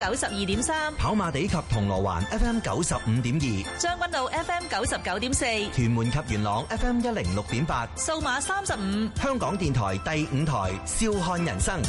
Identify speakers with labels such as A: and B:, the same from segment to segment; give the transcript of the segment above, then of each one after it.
A: 92.3，
B: 跑馬地及銅鑼灣 FM 95.2，
A: 將軍澳 FM 99.4，
B: 屯門及元朗 FM 106.8，
A: 數碼35，
B: 香港電台第5台笑看人生。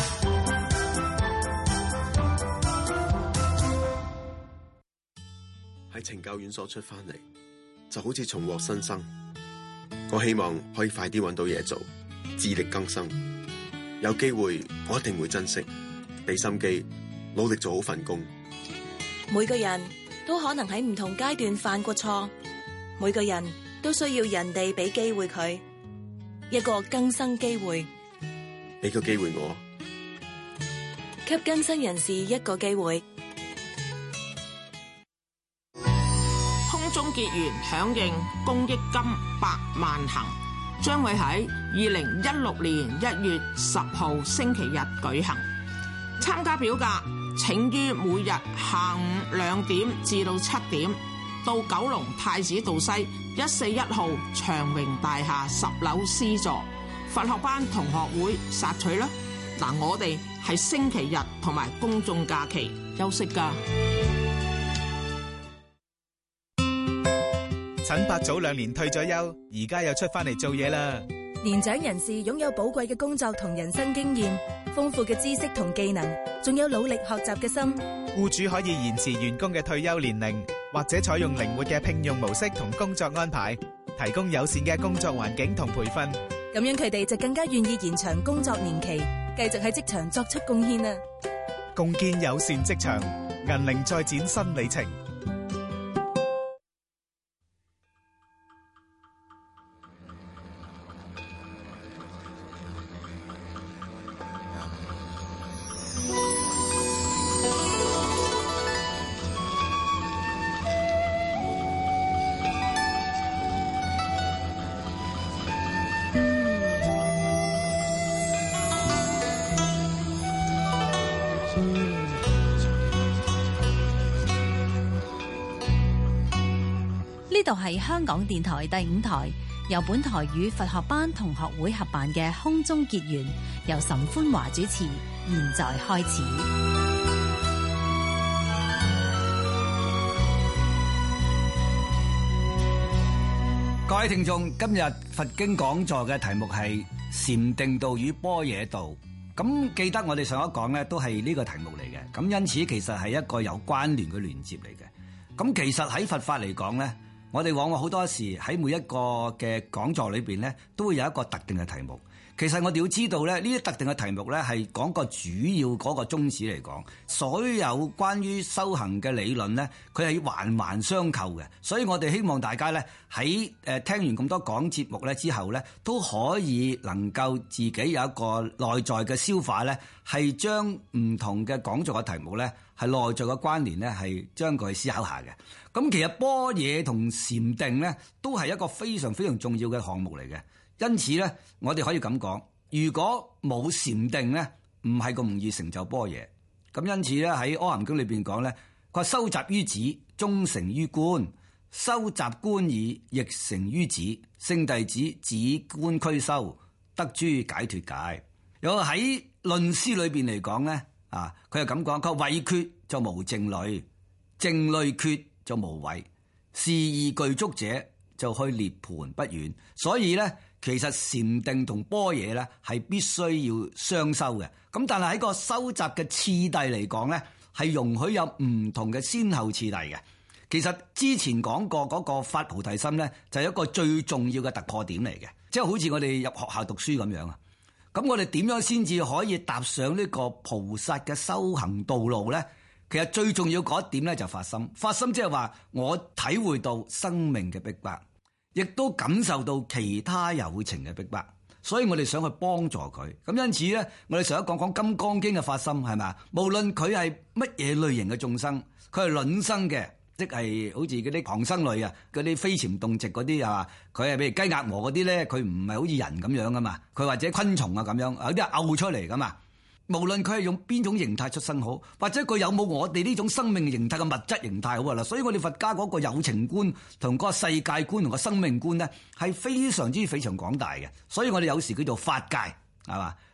C: 喺懲教院所出翻嚟，就好似重獲新生。我希望可以快啲揾到嘢做，自力更生。有機會我一定會珍惜，俾心機，努力做好份工。
D: 每個人都可能喺唔同階段犯過錯，每個人都需要人哋俾機會佢一個更生機會。
C: 俾個機會我，
D: 給更生人士一個機會。
E: 空中結緣響應公益金100萬行，將會喺2016年1月10號星期日舉行。參加表格請於每日下午2點至到7點到九龍太子道西141號長榮大廈10樓 C 座佛學班同學會索取啦。嗱，我哋係星期日同埋公眾假期休息㗎。
F: 陳伯早2年退咗休，而家又出翻嚟做嘢啦。
G: 年長人士擁有寶貴嘅工作同人生經驗，豐富嘅知識同技能，仲有努力學習嘅心。
F: 僱主可以延遲員工嘅退休年齡，或者採用靈活嘅聘用模式同工作安排，提供友善嘅工作環境同培訓。
G: 咁樣佢哋就更加願意延長工作年期，繼續喺職場作出貢獻啦。
F: 共建友善職場，銀齡再展新里程。
H: 呢度係香港電台第5台，由本台與佛學班同學會合辦嘅空中結緣，由岑歡華主持，現在開始。
I: 各位聽眾，今日佛經講座嘅題目係禪定道與般若道。咁記得我哋上一講咧，都係呢個題目嚟嘅。咁因此其實係一個有關聯嘅連接嚟嘅。咁其實喺佛法嚟講咧，我哋往往好多時喺每一個嘅講座裏邊咧，都會有一個特定嘅題目。其實我哋要知道咧，呢啲特定嘅題目咧係講個主要嗰個宗旨嚟講，所有關於修行嘅理論咧，佢係環環相扣嘅。所以我哋希望大家咧喺聽完咁多講節目咧之後咧，都可以能夠自己有一個內在嘅消化咧，係將唔同嘅講座嘅題目咧係內在嘅關聯咧係將佢思考下嘅。咁其實般若同禪定咧都係一個非常非常重要嘅項目嚟嘅。因此咧，我哋可以咁講，如果冇禪定咧，唔係咁容易成就般若。咁因此咧，喺《阿含經》裏邊講咧，佢話收集於止，終成於觀；收集觀已，亦成於止。聖弟子止觀俱修，得諸解脫界。有喺論師裏邊嚟講咧，佢係咁講，佢話慧缺就無靜慮，靜慮缺就無慧，是二具足者就去涅槃不遠。所以咧，其實禪定同般若咧係必須要雙修嘅。咁但係喺個收集嘅次第嚟講咧，係容許有唔同嘅先後次第嘅。其實之前講過嗰個發菩提心咧，就係一個最重要嘅突破點嚟嘅。即係好似我哋入學校讀書咁樣啊。咁我哋點樣先至可以踏上呢個菩薩嘅修行道路咧？其實最重要嗰一點咧就發心。發心即係話我體會到生命嘅逼迫，亦都感受到其他有情嘅逼迫，所以我哋想去幫助佢。咁因此咧，我哋上一講《金剛經》嘅發心係咪？無論佢係乜嘢類型嘅眾生，佢係卵生嘅，即係好似嗰啲旁生類啊，嗰啲飛潛動植嗰啲係嘛？佢係譬如雞鴨鵝嗰啲咧，佢唔係好似人咁樣噶嘛，佢或者昆蟲啊咁樣，有啲係嘔出嚟噶嘛。無論佢係用邊種形態出生好，或者佢有冇我哋呢種生命形態嘅物質形態好啦，所以我哋佛家嗰個有情觀同嗰個世界觀同個生命觀咧係非常廣大嘅，所以我哋有時叫做法界係嘛，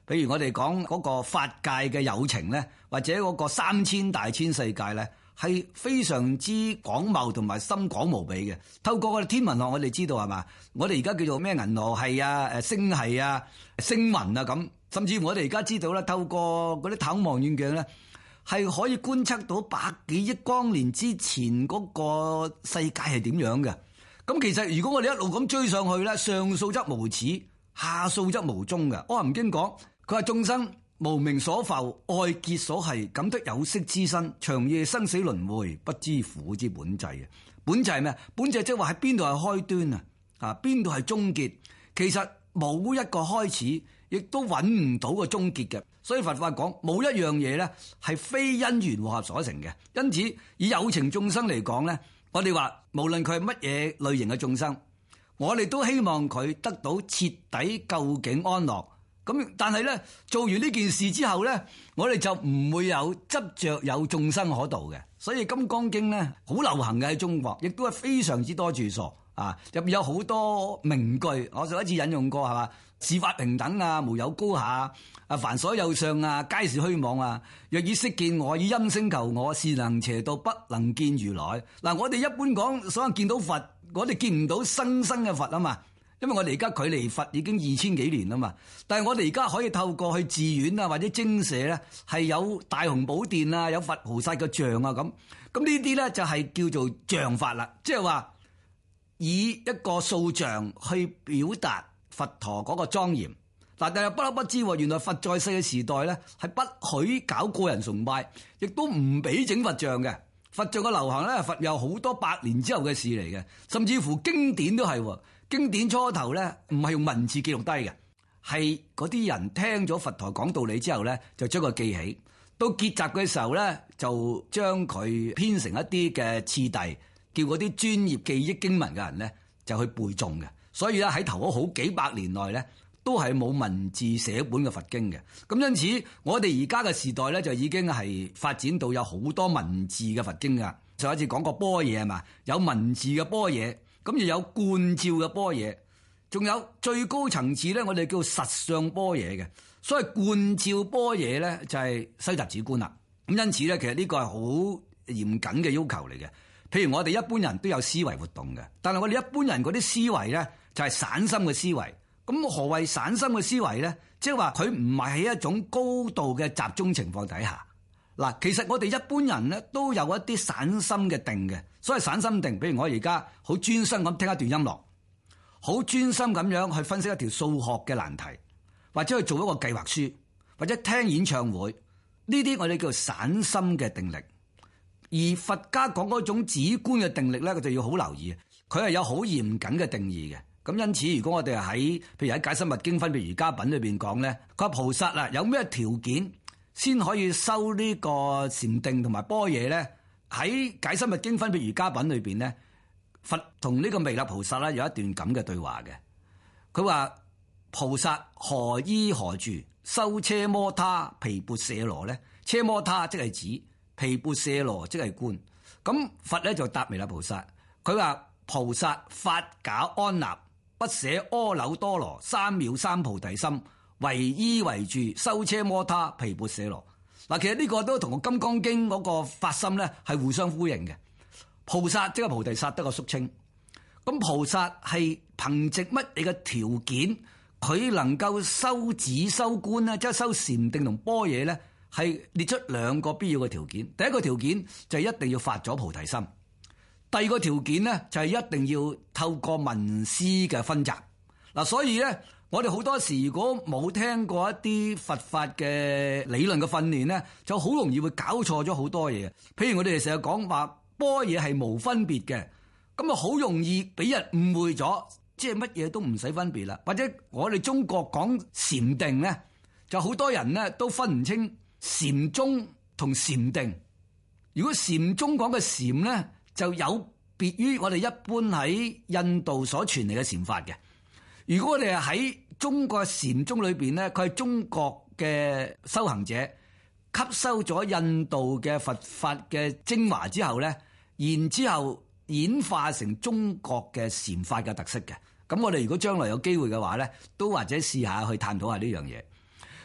I: 譬如我哋講嗰個法界嘅有情咧，或者嗰個3000大千世界咧，係非常之廣袤同埋深廣無比嘅。透過我哋天文學，我哋知道係嘛？我哋而家叫做咩銀河系啊、星系啊、星雲啊咁，甚至我哋而家知道咧，透過嗰啲太空望遠鏡咧，係可以觀測到100幾億光年之前嗰個世界係點樣嘅。咁其實如果我哋一路咁追上去咧，上數則無始，下數則無終嘅。阿含經講，佢話眾生無明所浮，愛結所繫，感得有識之身，長夜生死輪迴，不知苦之本際嘅。本際係咩？本際即係話喺邊度係開端啊？邊度係終結？其實冇一個開始，亦都揾唔到個終結嘅。所以佛法講冇一樣嘢咧係非因緣和合所成嘅。因此以有情眾生嚟講咧，我哋話無論佢係乜嘢類型嘅眾生，我哋都希望佢得到徹底究竟安樂。咁但係咧做完呢件事之後咧，我哋就唔會有執着有眾生可度嘅。所以《金剛經》咧好流行嘅喺中國，亦都係非常之多著作啊，入面有好多名句。我上一次引用過係嘛？是法平等啊，無有高下啊，凡所有相啊，皆是虛妄啊。若以色見我，以音聲求我，是能邪道，不能見如來。嗱，我哋一般講所謂見到佛，我哋見唔到生嘅佛啊嘛。因為我哋而家距離佛已經2000幾年啦嘛，但係我哋而家可以透過去寺院啊或者精舍咧，係有大雄寶殿啊，有佛菩薩嘅像啊咁。咁呢啲咧就係叫做像法啦，即係話以一個塑像去表達佛陀嗰個莊嚴。嗱，但係不得不知，原來佛在世嘅時代咧係不許搞個人崇拜，亦都唔俾整佛像嘅。佛像嘅流行咧，佛有好多百年之後嘅事嚟嘅，甚至乎經典都係。經典初頭咧唔係用文字記錄低嘅，係嗰啲人聽咗佛陀講道理之後咧，就將佢記起。到結集嘅時候咧，就將佢編成一啲嘅次第，叫嗰啲專業記憶經文嘅人咧就去背誦嘅。所以咧喺頭嗰好幾百年內咧，都係冇文字寫本嘅佛經嘅。咁因此，我哋而家嘅時代咧就已經係發展到有好多文字嘅佛經噶。上一次講過般若係嘛，有文字嘅般若。咁又有觀照嘅般若，仲有最高層次咧，我哋叫實相般若嘅。所謂觀照般若咧，就係西達止觀啦。咁因此咧，其實呢個係好嚴謹嘅要求嚟嘅。譬如我哋一般人都有思維活動嘅，但係我哋一般人嗰啲思維咧就係散心嘅思維。咁何謂散心嘅思維咧？即係話佢唔係喺一種高度嘅集中情況底下。嗱，其實我哋一般人咧都有一啲散心嘅定嘅，所謂散心定，比如我而家好專心咁聽一段音樂，好專心咁樣去分析一條數學嘅難題，或者去做一個計劃書，或者聽演唱會，呢啲我哋叫做散心嘅定力。而佛家講嗰種止觀嘅定力咧，佢就要好留意，佢係有好嚴謹嘅定義嘅。咁因此，如果我哋喺譬如喺《解深密經分別瑜伽品》裏邊講咧，佢話菩薩啊有咩條件先可以修呢個禪定同埋般若咧？喺《解深密經分別瑜伽品》裏邊咧，佛同呢個彌勒菩薩咧有一段咁嘅對話嘅。佢話菩薩何依何住修奢摩他毗缽舍羅咧？奢摩他即係指，毗缽舍羅即係觀。咁佛咧就答彌勒菩薩，佢話菩薩法假安立，不捨阿耨多羅三藐三菩提心，唯依為住修奢摩他毗缽舍羅。嗱，其實呢個都同個《金剛經》嗰個發心咧係互相呼應嘅。菩薩即係菩提薩得個肅稱，咁菩薩係憑藉乜嘢嘅條件，佢能夠修止修觀咧，即係修禪定同般若咧，係列出兩個必要嘅條件。第一個條件就係一定要發咗菩提心，第二個條件咧就係一定要透過聞思嘅薰習。嗱，所以咧，我哋好多時如果冇聽過一啲佛法嘅理論嘅訓練咧，就好容易會搞錯咗好多嘢。譬如我哋成日講話般若係無分別嘅，咁啊好容易俾人誤會咗，即係乜嘢都唔使分別啦。或者我哋中國講禪定咧，就好多人咧都分唔清禪宗同禪定。如果禪宗講嘅禪咧，就有別於我哋一般喺印度所傳嚟嘅禪法嘅。如果我哋喺中國禪宗裏邊咧，佢係中國嘅修行者吸收咗印度嘅佛法嘅精華之後咧，然之後演化成中國嘅禪法嘅特色嘅。咁我哋如果將來有機會嘅話咧，都或者試下去探討下呢樣嘢。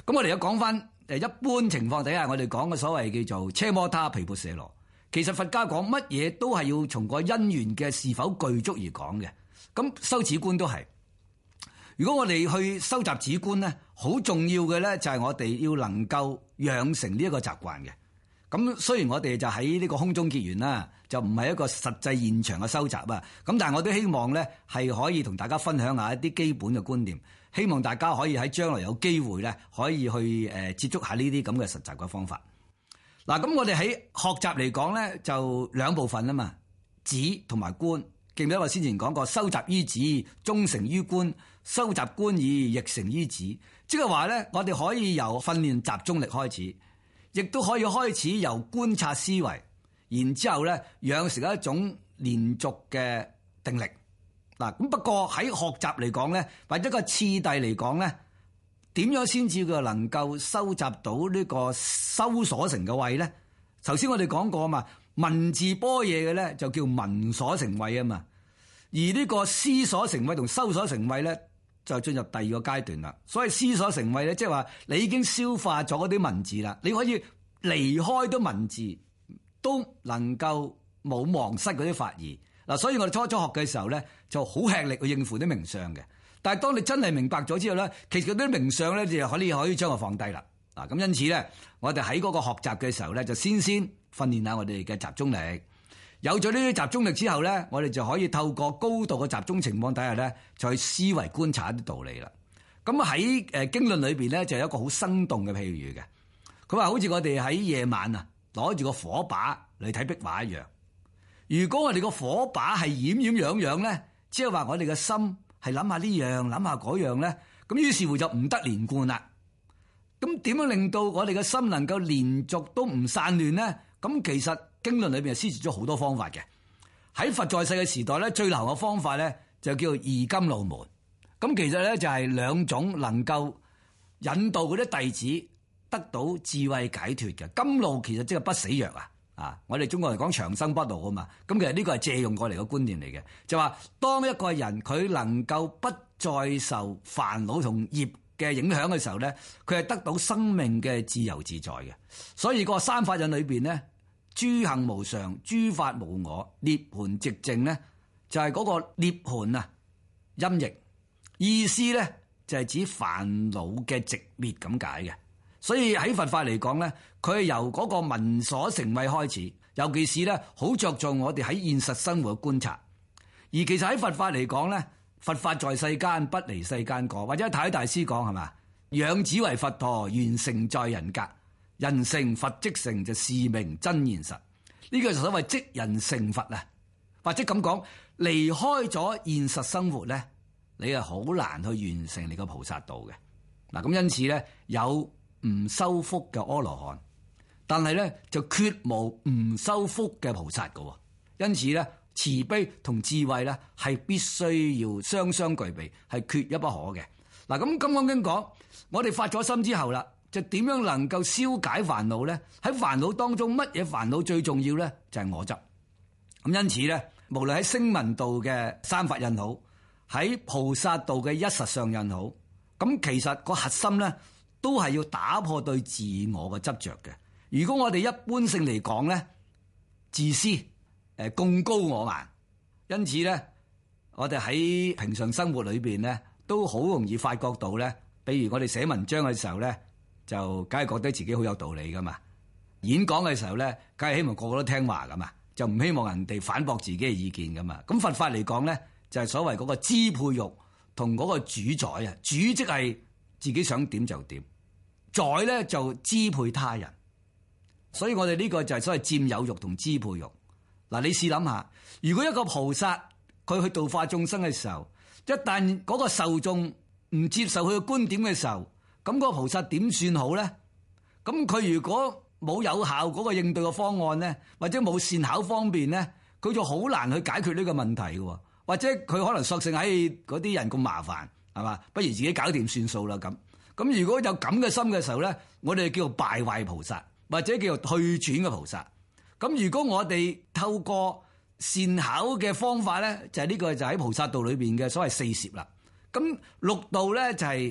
I: 咁我哋而家講翻一般情況底下，我哋講嘅所謂叫做奢摩他毗缽舍羅，其實佛家講乜嘢都係要從個因緣嘅是否具足而講嘅。咁修止觀都係。如果我哋去收集止觀咧，好重要嘅咧就係我哋要能夠養成呢一個習慣嘅。咁雖然我哋就喺呢個空中結緣啦，就唔係一個實際現場嘅收集啊。咁但係我都希望咧係可以同大家分享下一啲基本嘅觀念，希望大家可以喺將來有機會咧可以去接觸下呢啲咁嘅實習嘅方法。嗱，咁我哋喺學習嚟講咧就兩部分啊嘛，止同埋觀。記唔記得我先前講過，收集於止，終成於觀；收集觀意，亦成於止。即係話咧，我哋可以由訓練集中力開始，亦都可以開始由觀察思維，然之後咧養成一種連續嘅定力。嗱，咁不過喺學習嚟講咧，或者個次第嚟講咧，點樣先至佢能夠收集到呢個修所成嘅慧咧？頭先我哋講過啊嘛。文字般若嘅咧就叫文所成慧啊嘛，而呢個思所成慧同修所成慧咧就進入第二個階段啦。所謂思所成慧咧，即係話你已經消化咗嗰啲文字啦，你可以離開咗文字都能夠冇忘失嗰啲法義嗱。所以我哋初學嘅時候咧就好吃力去應付啲名相嘅，但係當你真係明白咗之後咧，其實嗰啲名相咧就可以將佢放低啦。嗱，咁因此咧，我哋喺嗰個學習嘅時候咧，就先訓練下我哋嘅集中力。有咗呢啲集中力之後咧，我哋就可以透過高度嘅集中情況底下咧，就去思維觀察一啲道理啦。咁喺經論裏邊咧，就有一個好生動嘅譬喻嘅。佢話好似我哋喺夜晚啊，攞住個火把嚟睇壁畫一樣。如果我哋個火把係掩樣咧，即係話我哋嘅心係諗下呢樣諗下嗰樣咧，咁於是乎就唔得連貫啦。咁點樣令到我哋嘅心能夠連續都唔散亂咧？咁其實經論裏邊係施設咗好多方法嘅。喺佛在世嘅時代咧，最流行嘅方法咧就叫二甘露門。咁其實咧就係兩種能夠引導嗰啲弟子得到智慧解脫嘅。甘露其實即係不死藥啊！我哋中國人講長生不老啊嘛。咁其實呢個係借用過嚟嘅觀念嚟嘅，就話當一個人佢能夠不再受煩惱同業嘅影響嘅時候咧，佢係得到生命嘅自由自在嘅。所以個三法印裏邊咧，諸行無常，諸法無我，涅槃寂靜咧，就係嗰個涅槃啊音譯，意思咧就係指煩惱嘅寂滅咁解嘅。所以喺佛法嚟講咧，佢係由嗰個文所成慧開始，尤其是咧好着重我哋喺現實生活嘅觀察。而其實喺佛法嚟講咧，佛法在世間，不離世間過，或者太大師講係嘛？養子為佛陀，完成在人格。人成佛即成，就是名真現實。呢個就所謂即人成佛啊，或者咁講，離開咗現實生活咧，你係好難去完成你個菩薩道嘅。嗱，咁因此咧，有唔修福嘅阿羅漢，但係咧就絕無唔修福嘅菩薩嘅。因此咧，慈悲同智慧咧係必須要雙雙具備，係缺一不可嘅。嗱，咁金剛經講，我哋發咗心之後啦，就點樣能夠消解煩惱咧？喺煩惱當中，乜嘢煩惱最重要咧？就係我執。咁因此咧，無論喺聲聞道嘅三法印好，喺菩薩道嘅一實相印好，咁其實個核心咧，都係要打破對自我嘅執着嘅。如果我哋一般性嚟講咧，自私，貢高我慢，因此咧，我哋喺平常生活裏邊咧，都好容易發覺到咧，比如我哋寫文章嘅時候咧，就梗係覺得自己好有道理噶嘛。演講嘅時候咧，梗係希望個個都聽話噶嘛，就唔希望人哋反駁自己嘅意見噶嘛。咁佛法嚟講咧，就係所謂嗰個支配欲同嗰個主宰啊，主即係自己想點就點，宰咧就支配他人。所以我哋呢個就係所謂佔有欲同支配欲。嗱，你試諗下，如果一個菩薩佢去度化眾生嘅時候，一旦嗰個受眾唔接受佢嘅觀點嘅時候，咁嗰個菩薩點算好咧？咁佢如果冇有效嗰個應對嘅方案咧，或者冇善巧方便咧，佢就好難去解決呢個問題嘅。或者佢可能索性喺嗰啲人咁麻煩，係嘛？不如自己搞掂算數啦咁。咁如果有咁嘅心嘅時候咧，我哋叫做敗壞菩薩，或者叫做退轉嘅菩薩。咁如果我哋透過善巧嘅方法咧，就係呢個就喺菩薩道裏邊嘅所謂四攝啦。咁六道咧就係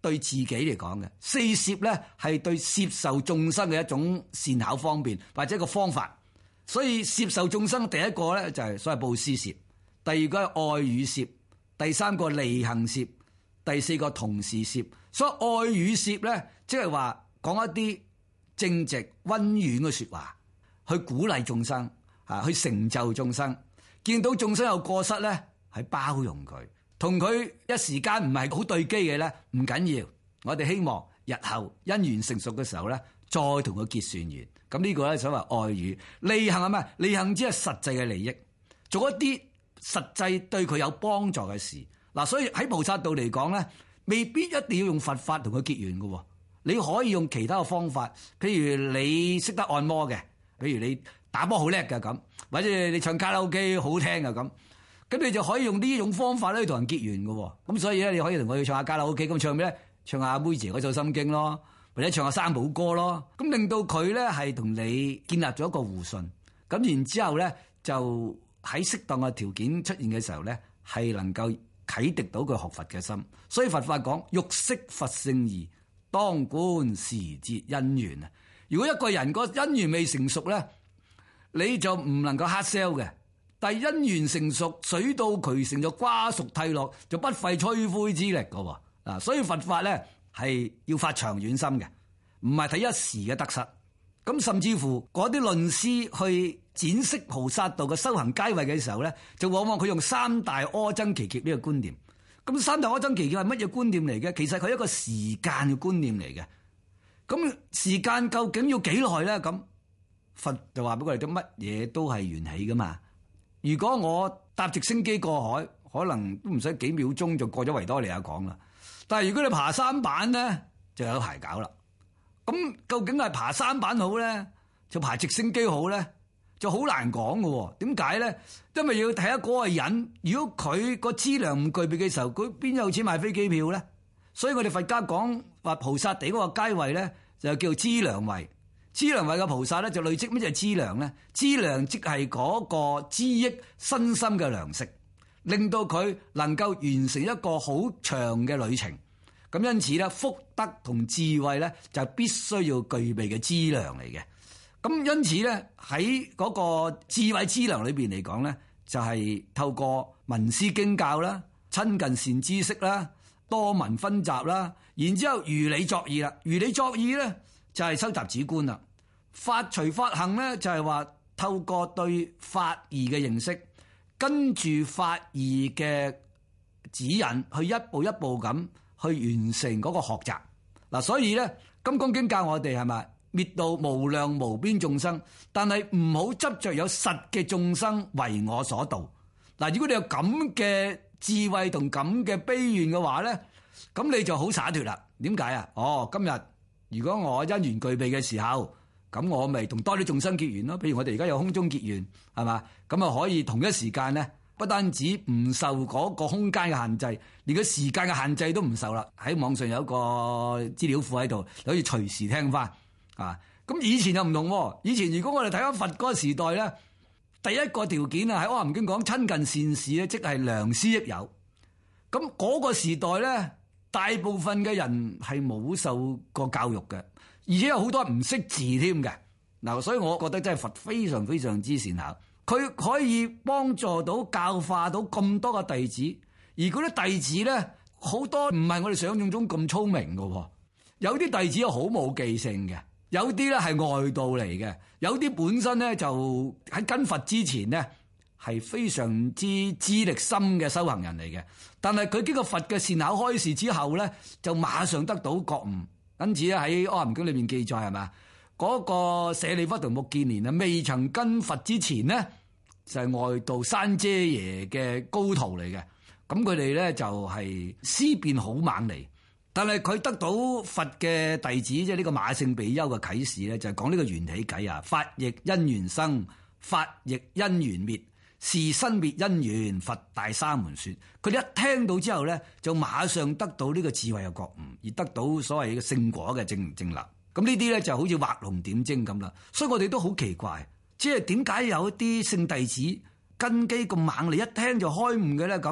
I: 對自己嚟講嘅，四攝咧係對攝受眾生嘅一種善巧方便或者一個方法。所以攝受眾生第一個咧就係所謂布施攝，第二個係愛語攝，第三個利行攝，第四個同事攝。所以愛語攝咧，即係話講一啲正直溫婉嘅說話，去鼓勵眾生啊，去成就眾生。見到眾生有過失咧，係包容佢，同佢一時間唔係好對機嘅咧，唔緊要。我哋希望日後因緣成熟嘅時候咧，再同佢結算緣。咁呢個咧所謂愛語。利行係咩？利行只係實際嘅利益，做一啲實際對佢有幫助嘅事。嗱，所以喺菩薩道嚟講咧，未必一定要用佛法同佢結緣嘅。你可以用其他嘅方法，譬如你識得按摩嘅，譬如你打波好叻嘅咁，或者你唱卡拉 OK 好聽嘅咁，咁你就可以用呢種方法咧同人結緣嘅。咁所以咧，你可以同佢唱下卡拉 OK，咁唱咩咧？唱下妹姐嗰首心經咯。或者唱下三寶歌咯，咁令到佢咧係同你建立咗一個互信，咁然之後咧就喺適當嘅條件出現嘅時候咧，係能夠啟迪到佢學佛嘅心。所以佛法講欲識佛聖義，當觀時節因緣啊！如果一個人個因緣未成熟咧，你就唔能夠 hard sell 嘅。但係因緣成熟，水到渠成就瓜熟蒂落，就不費吹灰之力㗎喎。嗱，所以佛法咧係要發長遠心嘅，唔係睇一時嘅得失。咁甚至乎嗰啲論師去展釋菩薩道嘅修行階位嘅時候咧，就往往佢用三大阿僧祇劫呢個觀念。咁三大阿僧祇劫係乜嘢觀念嚟嘅？其實佢係一個時間嘅觀念嚟嘅。咁時間究竟要幾耐咧？咁佛就話俾我哋聽，乜嘢都係緣起噶嘛。如果我搭直升機過海，可能都唔使幾秒鐘就過咗維多利亞港啦。但係如果你爬山板咧，就有排搞啦。咁究竟係爬山板好咧，就爬直升機好咧，就好難講嘅。點解咧？因為要睇下嗰個人，如果佢個資糧唔具備嘅時候，佢邊有錢買飛機票咧？所以我哋佛家講話菩薩地嗰個階位咧，就叫資糧位。資糧位嘅菩薩咧，就累積咩就係資糧咧？資糧即係嗰個資益身心嘅糧食，令到佢能夠完成一個好長嘅旅程。咁因此咧，福德同智慧咧就必須要具備嘅資糧嚟嘅。咁因此咧，喺嗰個智慧資糧裏邊嚟講咧，就係透過聞思經教啦、親近善知識啦、多聞分集啦，然之後如理作意啦。如理作意咧就係收集止觀啦。法隨法行咧就係話透過對法義嘅認識，跟住法義嘅指引去一步一步咁去完成嗰個學習。嗱，所以咧《金剛經》教我哋係咪滅度無量無邊眾生，但係唔好執着有實嘅眾生為我所度。嗱，如果你有咁嘅智慧同咁嘅悲願嘅話咧，咁你就好灑脫啦。點解啊？今日如果我因緣具備嘅時候，咁我咪同多啲眾生結緣咯。譬如我哋而家有空中結緣，係嘛？咁啊可以同一時間咧，不單止唔受嗰個空間嘅限制，連個時間嘅限制都唔受啦。喺網上有一個資料庫喺度，你可以隨時聽翻啊。咁以前又唔同，以前如果我哋睇翻佛嗰個時代咧，第一個條件啊喺《阿含經》講親近善士咧，即係良師益友。咁嗰個時代咧，大部分嘅人係冇受過教育嘅，而且有好多人唔識字添嘅。嗱，所以我覺得真係佛非常非常之善巧。佢可以幫助到教化到咁多個弟子，而嗰啲弟子咧，好多唔係我哋想象中咁聰明嘅，有啲弟子好冇記性嘅，有啲咧係外道嚟嘅，有啲本身咧就喺跟佛之前咧係非常之資歷深嘅修行人嚟嘅，但係佢經過佛嘅善巧開示之後咧，就馬上得到覺悟。因此咧喺《阿含經》裏面記載係嘛？嗰個舍利弗同目犍連啊，未曾跟佛之前咧，就係外道山遮耶嘅高徒嚟嘅。咁佢哋咧就係思辨好猛嚟，但係佢得到佛嘅弟子，即係呢個馬勝比丘嘅啟示咧，就係講呢個緣起偈啊。法亦因緣生，法亦因緣滅，是生滅因緣，佛大沙門說。佢哋一聽到之後咧，就馬上得到呢個智慧嘅覺悟，而得到所謂嘅聖果嘅正立。咁呢啲咧就好似畫龍點睛咁啦，所以我哋都好奇怪，即係點解有一啲聖弟子根基咁猛，你一聽就開悟嘅咧咁？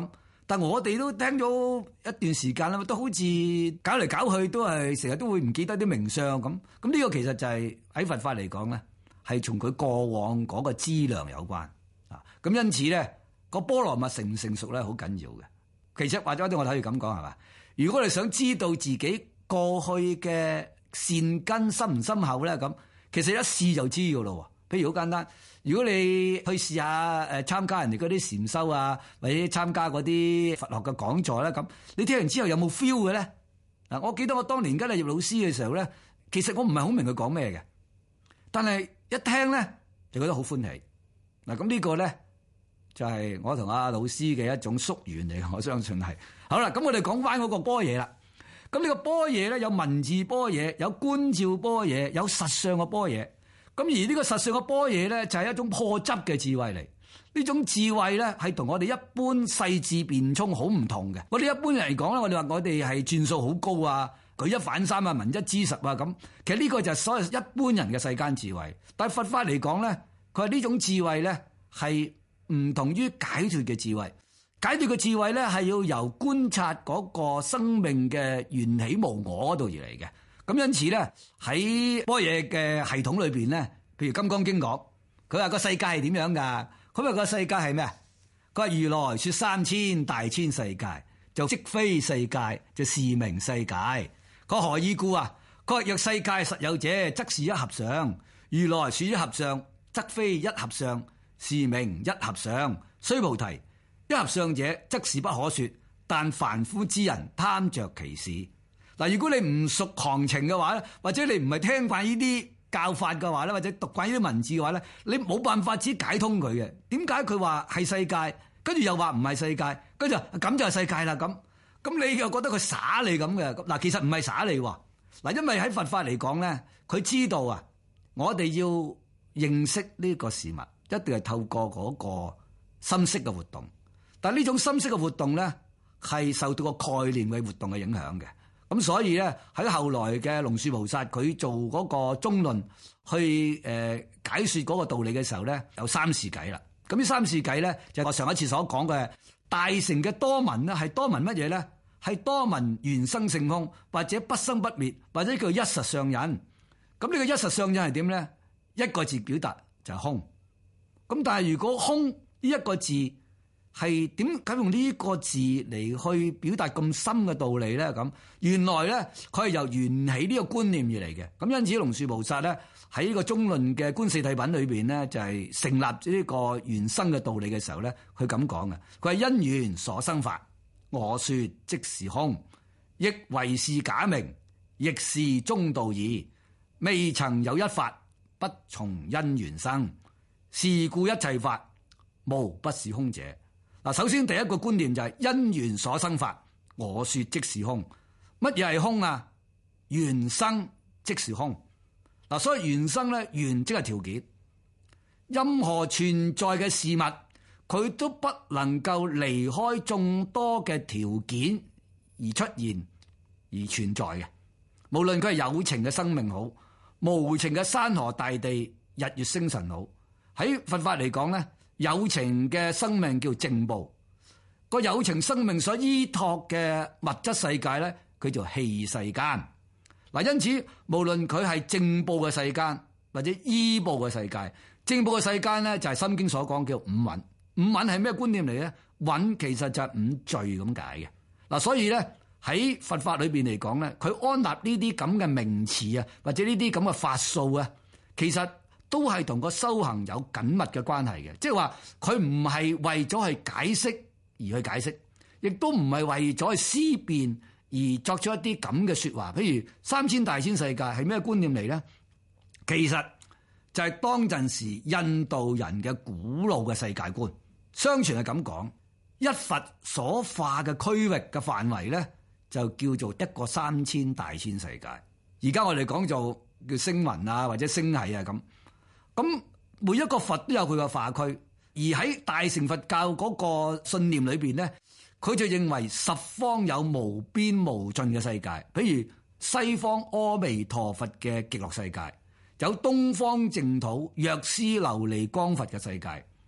I: 但我哋都聽咗一段時間啦，都好似搞嚟搞去都係成日都會唔記得啲名相咁。咁呢個其實就係喺佛法嚟講咧，係從佢過往嗰個資糧有關啊。咁因此咧，個波羅蜜成唔成熟咧，好緊要嘅。其實或者我睇住咁講係嘛，如果你想知道自己過去嘅善根深唔深厚咧，咁其實一試就知噶咯。譬如好簡單，如果你去試下參加人哋嗰啲禪修啊，或者參加嗰啲佛學嘅講座咧，咁你聽完之後有冇 feel 嘅咧？嗱，我記得我當年跟阿葉老師嘅時候咧，其實我唔係好明佢講咩嘅，但係一聽咧就覺得好歡喜。嗱，咁呢個咧就係我同阿老師嘅一種宿緣嚟，我相信係。好啦，咁我哋講翻嗰個般若啦。咁呢個般若咧有文字般若，有觀照般若，有實相嘅般若。咁而呢個實相嘅般若咧，就係一種破執嘅智慧嚟。呢種智慧咧，係同我哋一般細緻辯聰好唔同嘅。我哋一般人嚟講咧，我哋話我哋係轉數好高啊，舉一反三啊，聞一知十啊咁。其實呢個就係所謂一般人嘅世間智慧。但係佛法嚟講咧，佢係呢種智慧咧係唔同於解脫嘅智慧。解脫嘅智慧咧係要由觀察嗰個生命嘅緣起無我嗰度而嚟嘅。咁因此咧喺般若嘅系統裏邊咧，譬如《金剛經》講，佢話個世界係點樣㗎？佢話個世界係咩啊？佢話如來說3000大千世界，就即非世界，就是名世界。佢何以故啊？佢話若世界實有者，則是一合相；如來說一合相，則非一合相，是名一合相。須菩提，一合相者，則是不可說，但凡夫之人貪着其事。嗱，如果你唔熟行情嘅話咧，或者你唔係聽慣呢啲教法嘅話咧，或者讀慣呢啲文字嘅話咧，你冇辦法只解通佢嘅。點解佢話係世界，跟住又話唔係世界，跟住咁就係世界啦咁。咁你又覺得佢耍你咁嘅？嗱，其實唔係耍你喎。嗱，因為喺佛法嚟講咧，佢知道啊，我哋要認識呢個事物，一定係透過嗰個心識嘅活動。但係呢種心識嘅活動咧，係受到個概念嘅活動嘅影響嘅。咁所以咧，喺後來嘅龍樹菩薩佢做嗰個中論去解說嗰個道理嘅時候咧，有三事偈啦。咁呢三事偈咧，就係我上一次所講嘅大乘嘅多聞咧，係多聞乜嘢咧？係多聞緣生性空，或者不生不滅，或者叫一實相引。咁呢個一實相引係點咧？一個字表達就係空。咁但係如果空呢一個字係點解用呢個字嚟去表達咁深嘅道理咧？咁原來咧佢係由緣起呢個觀念而嚟嘅。咁因此龍樹菩薩咧喺呢個中論嘅觀四諦品裏邊咧，就係成立呢個緣生嘅道理嘅時候咧，佢咁講嘅。佢係因緣所生法，我說即是空，亦為是假名，亦是中道義。未曾有一法不從因緣生，是故一切法無不是空者。嗱，首先第一個觀念就係因緣所生法，我說即是空。乜嘢係空啊？緣生即是空。嗱，所以緣生咧，緣即係條件。任何存在嘅事物，佢都不能夠離開眾多嘅條件而出現而存在嘅。無論佢係有情嘅生命好，無情嘅山河大地、日月星辰好，喺佛法嚟講咧，有情嘅生命叫正報，個有情生命所依託嘅物質世界咧，佢叫器世間。嗱，因此無論佢係正報嘅世間或者依報嘅世界，正報嘅世間咧就係《心經》所講叫五蘊。五蘊係咩觀念嚟咧？蘊其實就係五罪咁解嘅。嗱，所以咧喺佛法裏邊嚟講咧，佢安立呢啲咁嘅名詞啊，或者呢啲咁嘅法數啊，其實都係同個修行有緊密嘅關係嘅。即係話佢唔係為咗去解釋而去解釋，亦都唔係為咗去思辨而作出一啲咁嘅說話。譬如3000大千世界係咩觀念嚟咧？其實就係當陣時印度人嘅古老嘅世界觀。相傳係咁講，一佛所化嘅區域嘅範圍咧，就叫做一個3000大千世界。而家我哋講做叫星雲啊，或者星系啊咁。咁每一個佛都有佢嘅化區，而喺大乘佛教嗰個信念裏邊咧，佢就認為十方有無邊無盡嘅世界。譬如西方阿彌陀佛嘅極樂世界，有東方淨土藥師琉璃光佛嘅世界，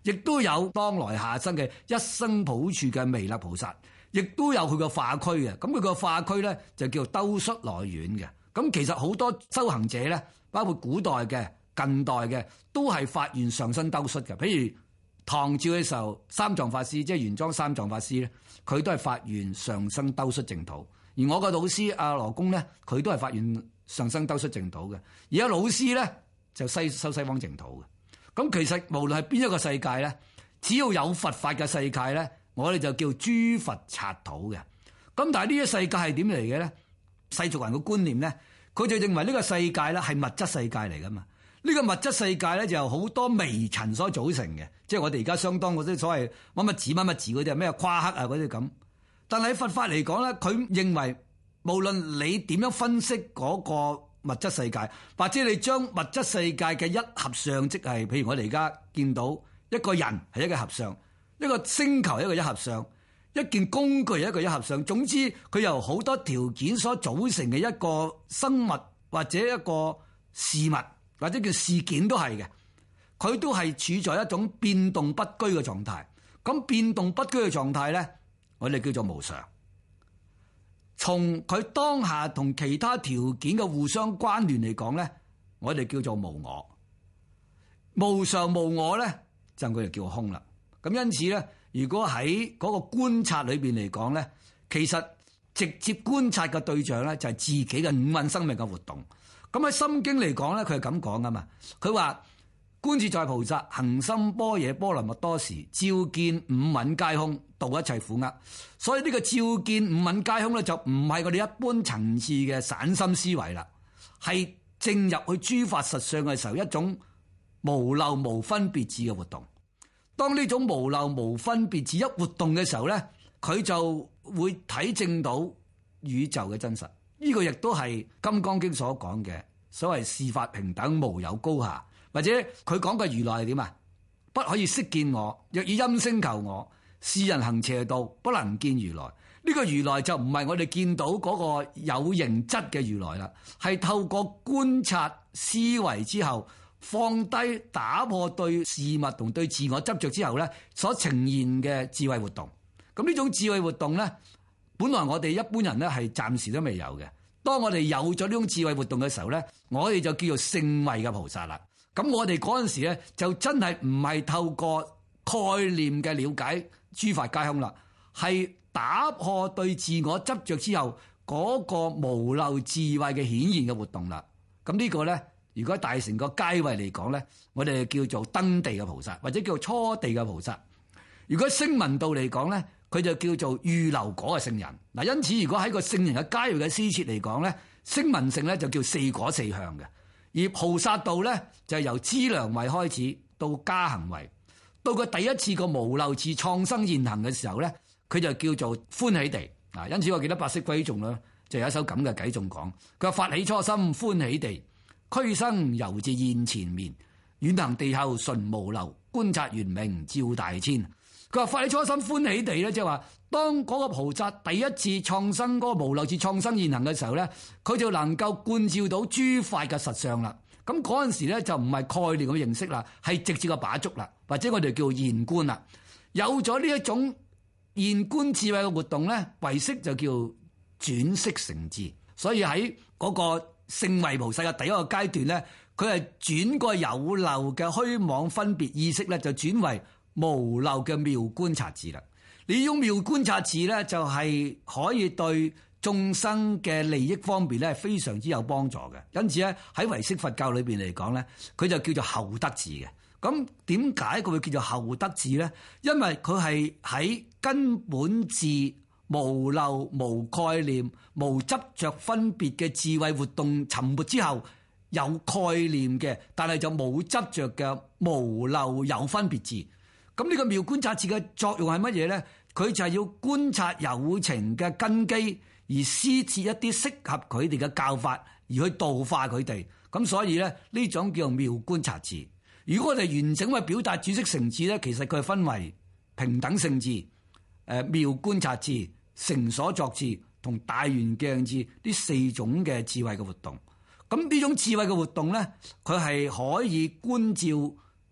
I: 亦都有當來下生嘅一生補處嘅彌勒菩薩，亦都有佢個化區嘅。咁佢個化區咧就叫兜率內院嘅。咁其實好多修行者咧，包括古代嘅、近代嘅，都係發願上身兜率嘅。譬如唐朝嘅時候，三藏法師即係玄奘三藏法師咧，佢都係發願上身兜率淨土。而我個老師阿羅公咧，佢都係發願上身兜率淨土嘅。而家老師咧就修西方淨土嘅。咁其實無論係邊一個世界咧，只要有佛法嘅世界咧，我哋就叫諸佛剎土嘅。咁但係呢個世界係點嚟嘅咧？世俗人嘅觀念咧，佢就認為呢個世界咧係物質世界嚟噶嘛。呢個物質世界咧就由好多微塵所組成嘅，即係我哋而家相當嗰啲所謂乜乜字乜乜字嗰啲咩夸克啊嗰啲咁。但係喺佛法嚟講咧，佢認為無論你點樣分析嗰個物質世界，或者你將物質世界嘅一合相，即係譬如我哋而家見到一個人係一個合相，一個星球係一個一合相，一件工具係一個一合相，總之佢由好多條件所組成嘅一個生物或者一個事物或者叫事件都係嘅，佢都係處在一種變動不居嘅狀態。咁變動不居嘅狀態咧，我哋叫做無常。從佢當下同其他條件嘅互相關聯嚟講咧，我哋叫做無我。無常無我咧，就佢就叫空啦。咁因此咧，如果喺嗰個觀察裏邊嚟講咧，其實直接觀察嘅對象咧就係自己嘅五蘊生命嘅活動。咁喺《心經》嚟講咧，佢係咁講噶嘛。佢話觀自在菩薩行深般若波羅蜜多時，照見五蘊皆空，度一切苦厄。所以呢個照見五蘊皆空咧，就唔係我哋一般層次嘅散心思維啦，係正入去諸法實相嘅時候，一種無漏無分別智嘅活動。當呢種無漏無分別智一活動嘅時候咧，佢就會體證到宇宙嘅真實。呢個亦都係《金剛經》所講嘅所謂事法平等，無有高下。或者佢講嘅如來係點啊？不可以識見我，若以音聲求我，是人行邪道，不能見如來。呢個如來就唔係我哋見到嗰個有形質嘅如來啦，係透過觀察思維之後，放低打破對事物同對自我執着之後咧，所呈現嘅智慧活動。咁呢種智慧活動咧，本來我哋一般人咧係暫時都未有嘅。當我哋有咗呢種智慧活動嘅時候咧，我哋就叫做聖慧嘅菩薩啦。咁我哋嗰陣時咧，就真係唔係透過概念嘅了解諸法皆空啦，係打破對自我執着之後嗰個無漏智慧嘅顯現嘅活動啦。咁呢個咧，如果大乘個階位嚟講咧，我哋叫做登地嘅菩薩，或者叫做初地嘅菩薩。如果聲聞道嚟講咧，佢就叫做預流果嘅聖人。嗱，因此如果喺個聖人嘅階位嘅施設嚟講咧，聲聞乘咧就叫四果四向嘅。而菩薩道咧就係由資糧位開始到加行位，到佢第一次個無漏智創生現行嘅時候咧，佢就叫做歡喜地。啊，因此我記得八識歸頌啦，就有一首咁嘅偈頌講，佢話發起初心歡喜地，俱生猶自現前面，遠行地後純無漏，觀察圓明照大千。佢話發起初心歡喜地咧，即係話當嗰個菩薩第一次創生嗰個無漏智創生現行嘅時候咧，佢就能夠觀照到諸法嘅實相啦。咁嗰陣時咧就唔係概念嘅認識啦，係直接嘅把觸啦，或者我哋叫現觀啦。有咗呢一種現觀智慧嘅活動咧，唯識就叫轉識成智。所以喺嗰個聖慧菩薩嘅第一個階段咧，佢係轉個有漏嘅虛妄分別意識咧，就轉為無漏嘅妙觀察智啦。呢種妙觀察智咧，就係可以對眾生嘅利益方面咧，非常之有幫助嘅。因此咧，喺唯識佛教裏邊嚟講咧，佢就叫做後得智嘅。咁點解佢會叫做後得智咧？因為佢係喺根本智、無漏、無概念、無執着分別嘅智慧活動沉沒之後，有概念嘅，但係就冇執着嘅無漏有分別智。咁呢個妙觀察智嘅作用係乜嘢咧？佢就係要觀察有情嘅根基，而施設一啲適合佢哋嘅教法，而去度化佢哋。咁所以咧，呢種叫做妙觀察智。如果我哋完整去表達轉識成智咧，其實佢係分為平等性智、妙觀察智、成所作智同大圓鏡智呢四種嘅智慧嘅活動。咁呢種智慧嘅活動咧，佢係可以觀照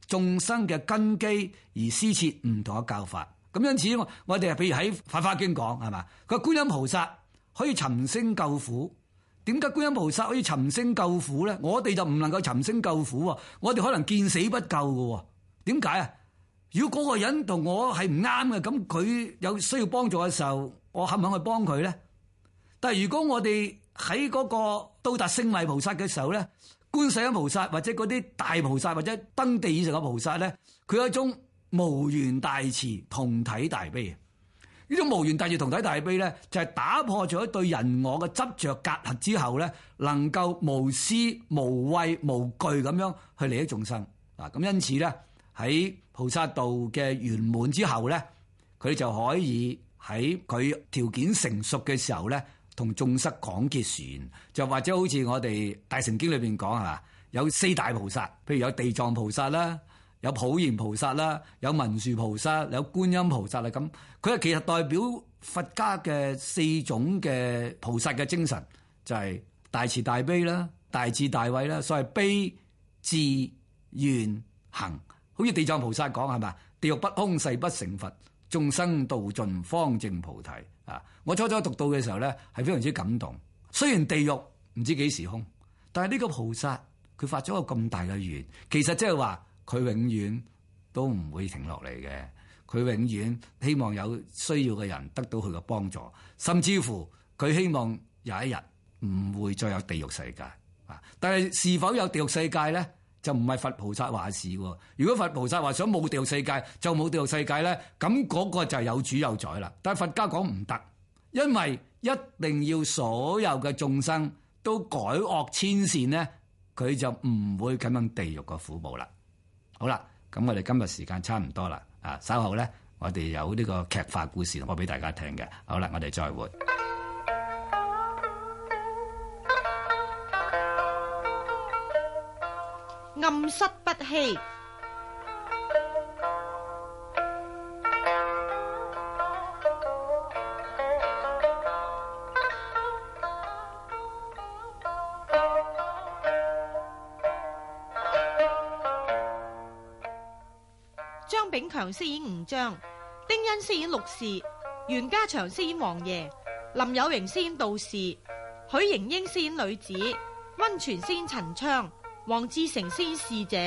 I: 眾生嘅根基而施設唔同嘅教法。咁因此我哋譬如喺《法華經》講係嘛，佢話觀音菩薩可以尋聲救苦。點解觀音菩薩可以尋聲救苦咧？我哋就唔能夠尋聲救苦喎，我哋可能見死不救嘅。點解啊？如果嗰個人同我係唔啱嘅，咁佢有需要幫助嘅時候，我肯唔肯去幫佢咧？但係如果我哋喺嗰個到達聖位菩薩嘅時候咧，觀世音菩薩或者嗰啲大菩薩或者登地以上嘅菩薩咧，佢有一種無緣大慈同體大悲。呢種無緣大慈同體大悲咧，就係打破咗對人我嘅執着隔閡之後咧，能夠無私無畏無懼咁樣去利益眾生。咁因此咧，喺菩薩道嘅圓滿之後咧，佢就可以喺佢條件成熟嘅時候咧，同眾生廣結緣。就或者好似我哋大乘經裏邊講係嘛，有四大菩薩，譬如有地藏菩薩啦，有普賢菩薩啦，有文殊菩薩，有觀音菩薩啦。咁佢係其實代表佛家嘅四種嘅菩薩嘅精神，就係大慈大悲啦、大智大慧啦，所謂悲智願行。好似地藏菩薩講係嘛，地獄不空誓不成佛，眾生度盡方證菩提。我初初讀到嘅時候咧，係非常之感動。雖然地獄唔知幾時空，但係呢個菩薩佢發咗個咁大嘅願，其實即係話佢永遠都唔會停落嚟嘅。佢永遠希望有需要嘅人得到佢嘅幫助，甚至乎佢希望有一日唔會再有地獄世界。但係是否有地獄世界咧，就唔係佛菩薩話事喎。如果佛菩薩話想冇地獄世界就冇地獄世界咧，咁嗰個就係有主有宰啦。但係佛家講唔得，因為一定要所有嘅眾生都改惡遷善咧，佢就唔會咁樣地獄嘅苦報啦。好啦，咁我哋今日時間差唔多啦，稍後咧我哋有呢個劇化故事我俾大家聽嘅。好啦，我哋再會。
J: 暗室不欺。張炳強飾演吳章，丁欣飾演陸氏，袁家祥飾演王爺，林有榮飾演道士，許瑩英飾演女子，溫泉飾演陳昌，黃志成飾演侍者。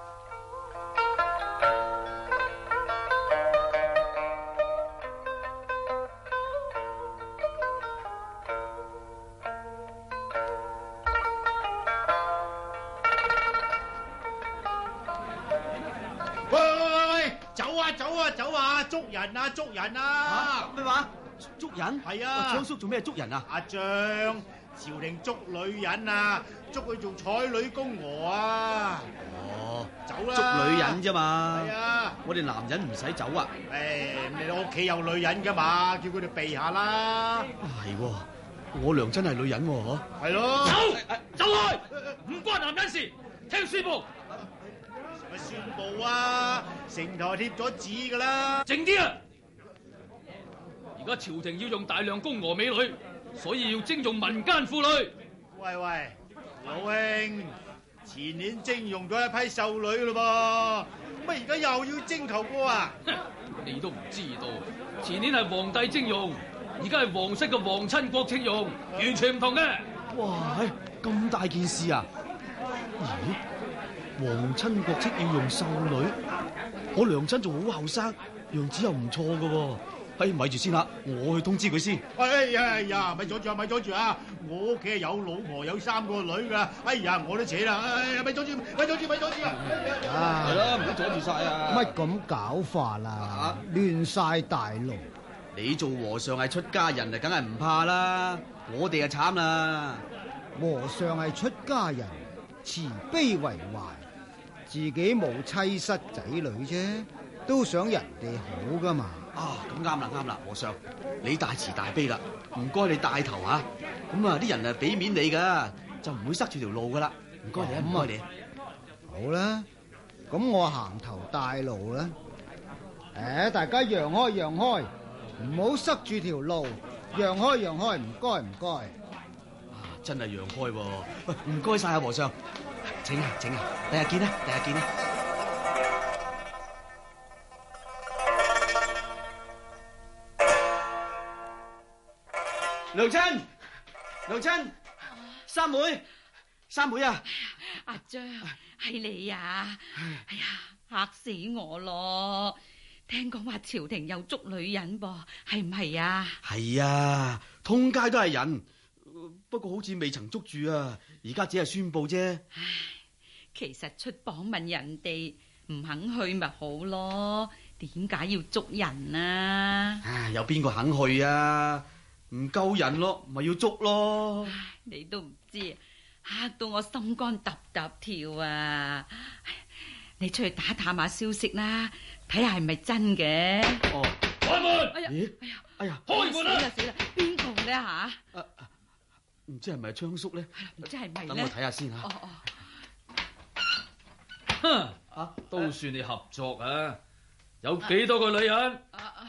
K: 喂，走啊！捉人啊！捉人啊！
L: 咩話？捉人？
K: 係啊！
L: 昌叔做咩捉人啊？
K: 阿張，朝廷捉女人啊，捉佢做彩女宮娥啊！
L: 哦，
K: 走啦！
L: 捉女人啫嘛。
K: 係啊！
L: 我哋男人唔使走啊。
K: 你屋企有女人噶嘛？叫佢哋避下啦。
L: 係喎，我娘真係女人喎，嗬。
K: 係咯。
M: 走開！唔關男人事，聽宣佈。
K: 咪宣佈啊！城台貼咗紙噶啦。
M: 靜啲啊！而家朝廷要用大量宮娥美女，所以要徵用民間婦女。
K: 喂，老兄，前年徵用咗一批秀女咯噃，乜而家又要徵求過啊？
M: 你都唔知道，前年係皇帝徵用，而家係皇室嘅皇親國戚用，完全唔同嘅。
L: 哇，咁大件事啊！咦？皇親國戚要用秀女，我娘親仲好後生，樣子又唔錯噶。咪住先啦，我去通知佢先。
K: 哎呀，咪阻住啊！我屋企係有老婆有3個女噶。哎呀，我都扯啦。咪阻住啊！
L: 係啦，唔好阻住晒啊！
N: 乜咁搞法啦？亂晒大龍。
L: 你做和尚係出家人啊，梗係唔怕啦。我哋就慘啦。
N: 和尚係出家人，慈悲為懷，自己冇妻室仔女啫，都想人哋好噶嘛。
L: 咁啱啦，和尚，你大慈大悲啦，唔該你帶頭啊。咁啊，啲人啊俾面你噶，就唔會塞住條路噶啦。唔該你，唔該你。
N: 好啦，咁我行頭帶路啦。大家讓開，唔好塞住條路，讓開，唔該。
L: 真係讓開喎，喂，唔該晒啊，和尚。請啊，第日見啦。 娘親，娘親，三妹啊！
O: 阿張，係你啊！哎呀，嚇死我咯！聽講話朝廷又捉女人噃，係唔係啊？
L: 係啊，通街都係人，不過好似未曾捉住啊！而家只係宣佈啫。
O: 唉，其實出榜問人哋唔肯去咪好咯？點解要捉人啊？
L: 唉，有邊個肯去啊？唔夠人咯，咪要捉咯。
O: 你都唔知，嚇到我心肝揼揼跳啊！你出去打探下消息啦，睇下係咪真嘅。
L: 哦，
M: 開門！
L: 哎呀，
M: 開門啦！
O: 死啦！邊個咧吓？
L: 唔知係咪昌叔咧？
O: 唔知係咪咧？
L: 等我睇下先吓。
M: 哼，都算你合作啊！有幾多個女人？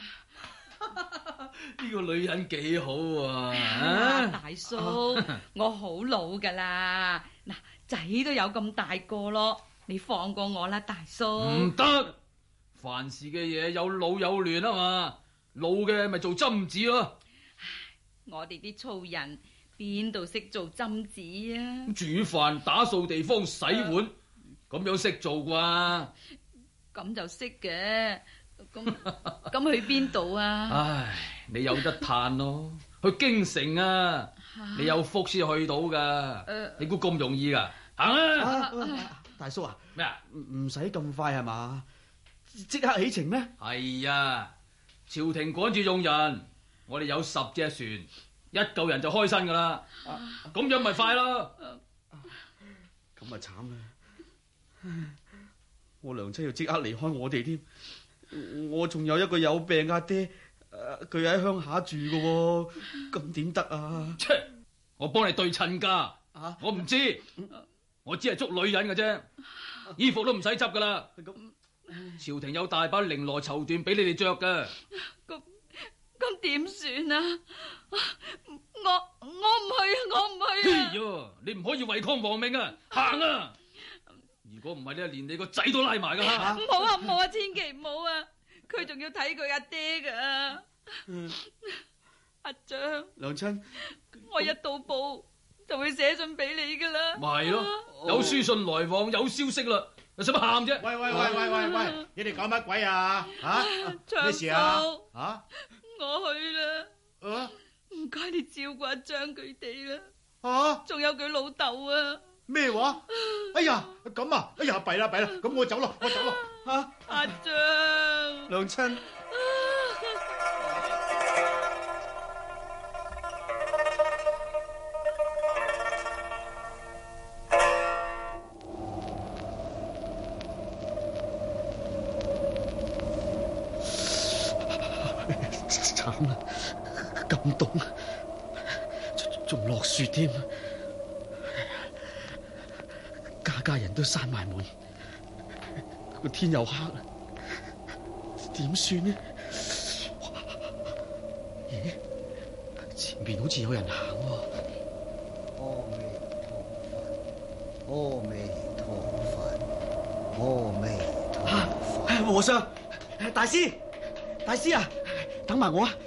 M: 呢個女人幾好啊！
O: 大叔，我好老噶啦，嗱，仔都有咁大個咯，你放過我啦，大叔。
M: 唔得，凡事嘅嘢有老有嫩啊嘛，老嘅咪做針子咯。
O: 我哋啲粗人邊度識做針子啊？
M: 煮飯、打掃地方、洗碗，咁樣識做啩？
O: 咁就識嘅。咁去邊度啊？
M: 唉，你有得嘆咯，去京城啊！你有福先去到噶，你估咁容易噶？行啊！
L: 大叔啊，
M: 咩啊？
L: 唔使咁快係嘛？即刻起程咩？
M: 係啊，朝廷趕住用人，我哋有10隻船，一嚿人就開身噶啦。咁樣咪快咯。
L: 咁咪慘啦！我娘親要即刻離開我哋添。我仲有一個有病阿爹，佢喺鄉下住嘅，咁點得啊？
M: 我幫你對襯噶，我唔知，我只係捉女人嘅啫，衣服都唔使執噶啦。朝廷有大把綾羅綢緞俾你哋着嘅。
O: 咁點算啊？我唔去啊！我唔去啊！
M: 哎喲，你唔可以違抗皇命啊！行啊！如果唔係咧，連你個仔都拉埋噶吓！
O: 唔好啊，唔好啊，千祈唔好啊！佢仲要睇佢阿爹噶。阿張，
L: 娘親，
O: 我一到埗就會寫信俾你噶啦。
M: 咪係咯，有書信來往，有消息啦，你使乜喊啫？
K: 喂！你哋搞乜鬼啊？咩事啊？
O: 我去啦。唔該，你照顧阿張佢哋啦。仲有佢老豆啊！
K: 咩話？哎呀，咁啊！哎呀，弊啦，咁我走咯。
O: 阿張，
L: 娘親，慘啦，咁凍，仲落雪添。家人都閂埋門，個天又黑啦，點算呢？咦，前邊好似有人行喎。
N: 阿彌陀佛，阿彌陀佛。
L: 和尚，大師啊，等埋我啊！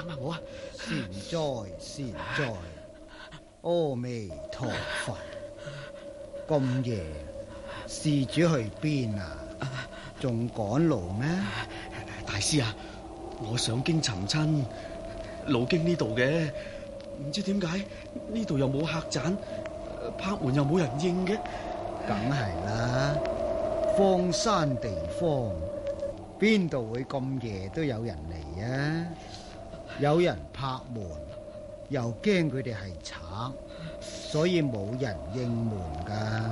N: 善哉，阿彌陀佛。咁夜，施主去邊啊？仲趕路咩？
L: 大師啊，我上京尋親，路經呢度嘅，唔知點解呢度又冇客棧，拍門又冇人應嘅。
N: 梗係啦，荒山地方，邊度會咁夜都有人嚟啊？有人拍門，又驚佢哋係賊。所以冇人應門噶。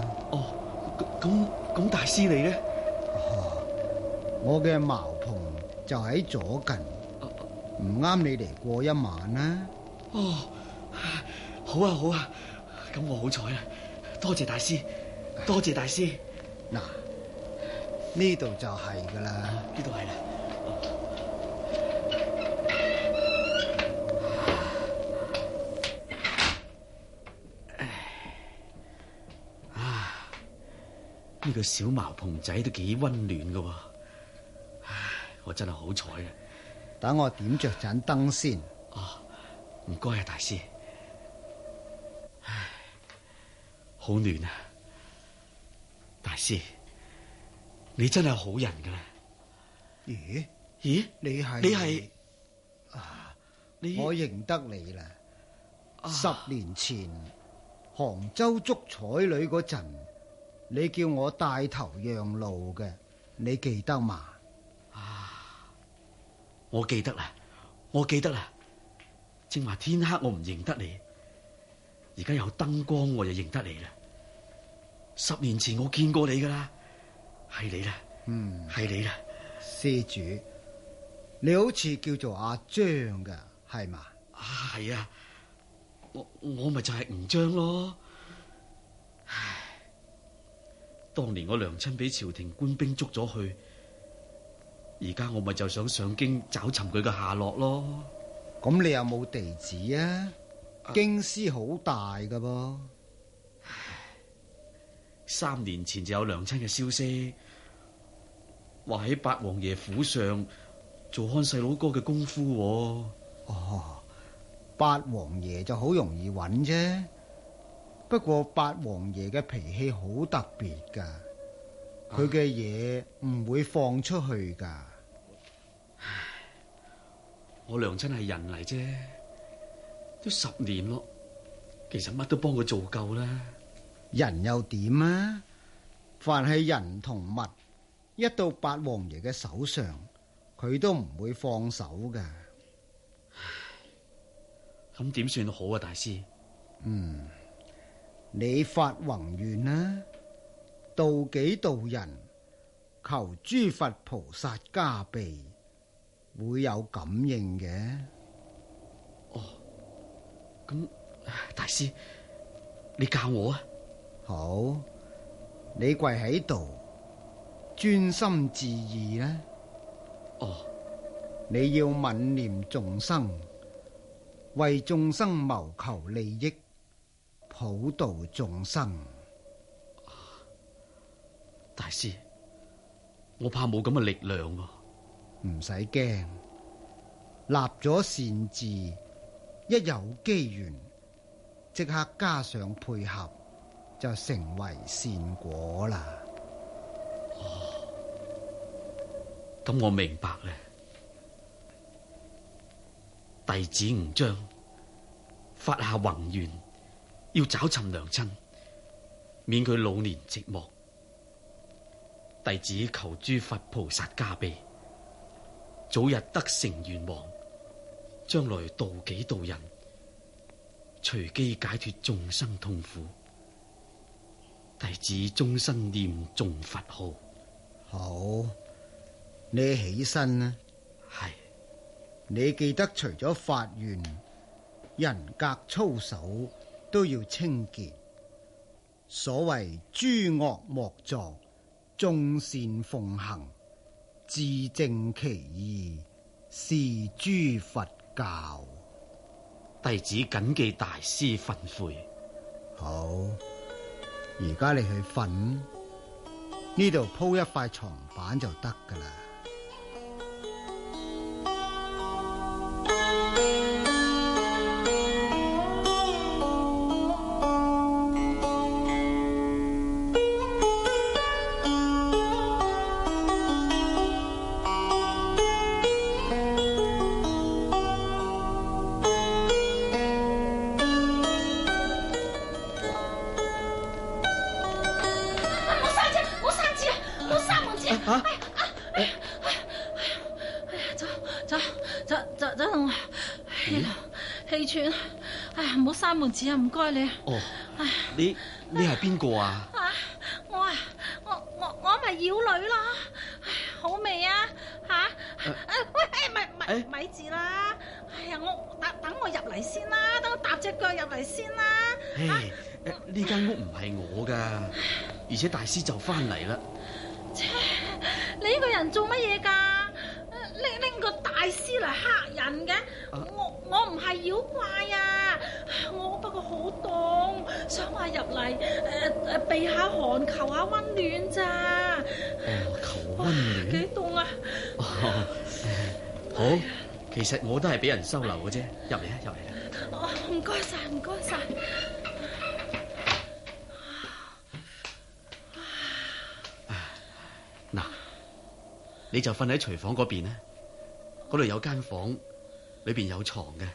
L: 咁大師你咧？
N: 我嘅茅棚就喺左近，唔啱你嚟過一晚啦。
L: 好啊，咁我好彩啦，多謝大師。
N: 嗱，呢度就係噶啦，
L: 呢度係啦。呢個小茅棚仔都幾溫暖噶，我真係好彩啊！
N: 等我點着盞燈先。
L: 唔該啊，大師。唉，好暖啊，大師，你真係好人噶啦。咦？
N: 你
L: 係
N: 我認得你啦。10年前杭州捉彩女嗰陣，你叫我帶頭讓路嘅，你記得嘛？
L: 我記得啦。正話天黑我唔認得你，而家有燈光我就認得你啦。10年前我見過你噶啦，係你啦，係你啦。
N: 施主，你好似叫做阿張噶，係嘛？
L: 係啊，我咪就係吳張咯。唉，當年我娘親俾朝廷官兵捉咗去，而家我咪就想上京找尋佢嘅下落咯。
N: 咁你有冇地址啊？京師好大噶噃。
L: 3年前就有娘親嘅消息，話喺八王爺府上做看細佬哥嘅功夫。
N: 八王爺就好容易揾啫，不過八王爺嘅脾氣好特別噶，佢嘅嘢唔會放出去噶。
L: 我娘親係人嚟啫，都10年咯，其實乜都幫佢做夠啦。
N: 人又點啊？凡係人同物，一到八王爺嘅手上，佢都唔會放手噶。
L: 咁點算好啊，大師？
N: 你發宏願啦，度己度人，求諸佛菩薩加庇，會有感應嘅。
L: 咁大師，你教我啊？
N: 好，你跪喺度，專心致意啦。你要憫念眾生，為眾生謀求利益，普度眾生。
L: 大師，我怕冇咁嘅力量喎。
N: 唔使驚，立咗善志，一有機緣，即刻加上配合，就成為善果啦。
L: 咁我明白咧。弟子吳章發下宏願，要找尋娘親，免佢老年寂寞。弟子求諸佛菩薩加庇，早日得成願望，將來度己度人，隨機解脫眾生痛苦。弟子終身念誦佛號。
N: 好，你起身啦。
L: 係。
N: 你記得除咗發願，人格操守都要清潔。所謂諸惡莫作，眾善奉行，自正其意，是諸佛教。
L: 弟子謹記大師訓誨。
N: 好，而家你去瞓，呢度鋪一塊床板就得噶啦。
O: 閂門子啊！唔該你。
L: 你係邊個啊？
J: 我咪妖女咯。好味啊！喂，咪住啦！哎呀，我等我入嚟先啦，等我踏隻腳入嚟先啦。
L: 呢間屋唔係我噶，而且大師就翻嚟啦。
J: 你呢個人做乜嘢噶？拎個大師嚟嚇人嘅？我唔係妖怪啊！我不過好凍，想話入嚟避下寒，求下溫暖咋。
L: 求溫暖？
J: 幾凍啊！
L: 好，其實我都係俾人收留嘅啫，入嚟啦。
O: 唔該晒，唔該晒。
L: 嗱，你就瞓喺廚房嗰邊咧，嗰度有間房，裏邊有床嘅。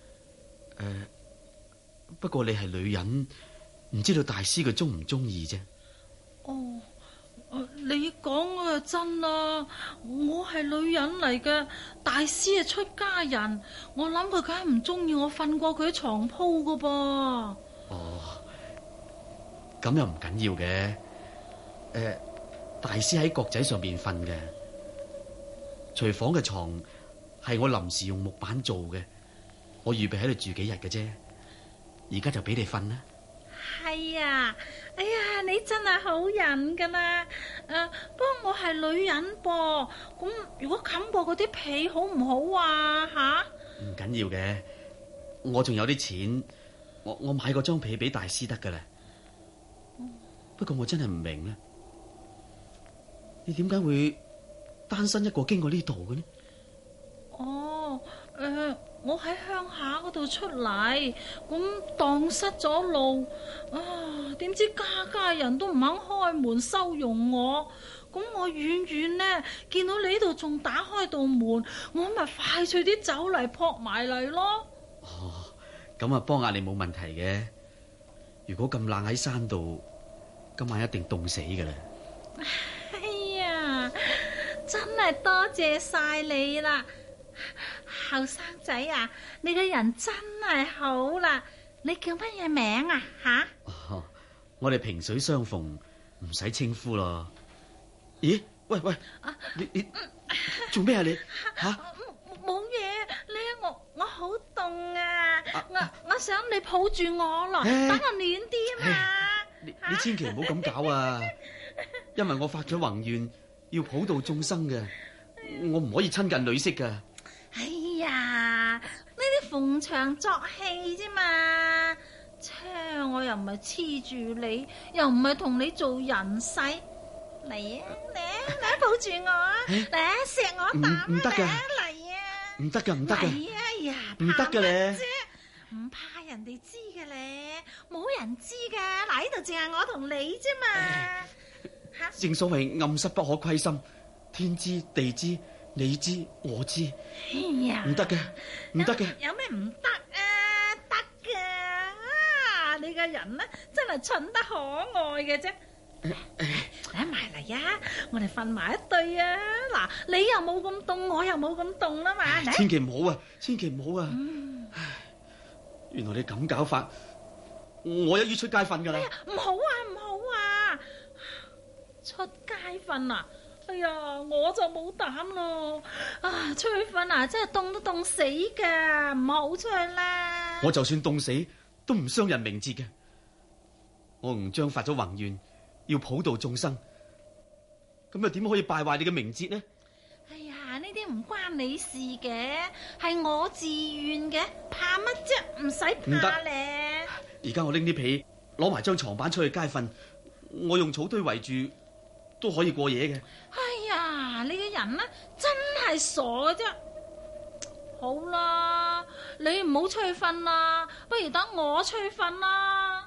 L: 不過你係女人，唔知道大師佢中唔中意啫。
O: 哦，你講啊真啦，我係女人嚟嘅，大師係出家人，我諗佢梗係唔中意我瞓過佢啲床鋪噶噃。
L: 哦，咁又唔緊要嘅。大師喺閣仔上邊瞓嘅，廚房嘅床係我臨時用木板做嘅，我預備喺度住幾日嘅啫，而家就俾你瞓啦。
O: 係啊，哎呀，你真係好人噶啦。不過我係女人噃，咁如果冚過嗰啲被好唔好啊？吓？
L: 唔緊要嘅，我仲有啲錢，我買個張被俾大師得噶啦。不過我真係唔明咧，你點解會單身一個經過呢度嘅呢？
O: 哦，我喺鄉下嗰度出嚟，咁蕩失咗路，點知家人都唔肯開門收容我，咁我遠遠呢見到你呢度仲打開道門，我咪快脆啲走嚟撲埋嚟咯。
L: 哦，咁啊幫下你冇問題嘅。如果咁冷喺山度，今晚一定凍死噶啦。
O: 哎呀，真係多謝晒你啦。後生仔啊，你個人真係好啦。你叫乜嘢名啊？吓？
L: 我哋萍水相逢，唔使稱呼咯。咦？喂，你做咩啊你？吓？
O: 冇嘢，我好凍啊！我想你抱住我咯，等我暖啲嘛。
L: 你千祈唔好咁搞啊！因為我發咗宏願，要普度眾生嘅，我唔可以親近女色噶。
O: 哎呀，呢啲逢場作戲啫嘛，我又唔係黐住你，又唔係同你做人世，嚟啊嚟抱住我啊，嚟啊錫我啖，
L: 唔得噶，
O: 嚟啊，
L: 唔得噶，唔得噶，
O: 哎呀，
L: 唔得噶咧，
O: 唔怕人哋知嘅咧，冇人知噶，嗱呢度淨係我同你啫嘛。
L: 正所謂暗室不可窺深，天知地知。你知我知，
O: 哎呀，
L: 唔得嘅，唔得嘅。
O: 有咩唔得啊？得噶，你個人呢真係蠢得可愛嘅啫。嚟埋嚟啊！我哋瞓埋一對啊！嗱，你又冇咁凍，我又冇咁凍啦嘛。
L: 千祈唔好啊！千祈唔好啊！原來你咁搞法，我一於出街瞓噶啦。
O: 唔好啊，唔好啊！出街瞓啊！哎呀，我就冇膽咯！出去瞓啊，真係凍都凍死噶，唔好出去啦！
L: 我就算凍死，都唔傷人名節嘅。我吳章發咗宏願，要普度眾生，咁又點可以敗壞你嘅名節呢？
O: 哎呀，呢啲唔關你事嘅，係我自願嘅，怕乜啫？唔使怕咧。
L: 而家我拎啲被，攞埋張床板出去街瞓，我用草堆圍住。都可以過夜嘅。
O: 哎呀，你個人呢真係傻嘅啫。好啦，你唔好出去瞓啦，不如等我出去瞓啦。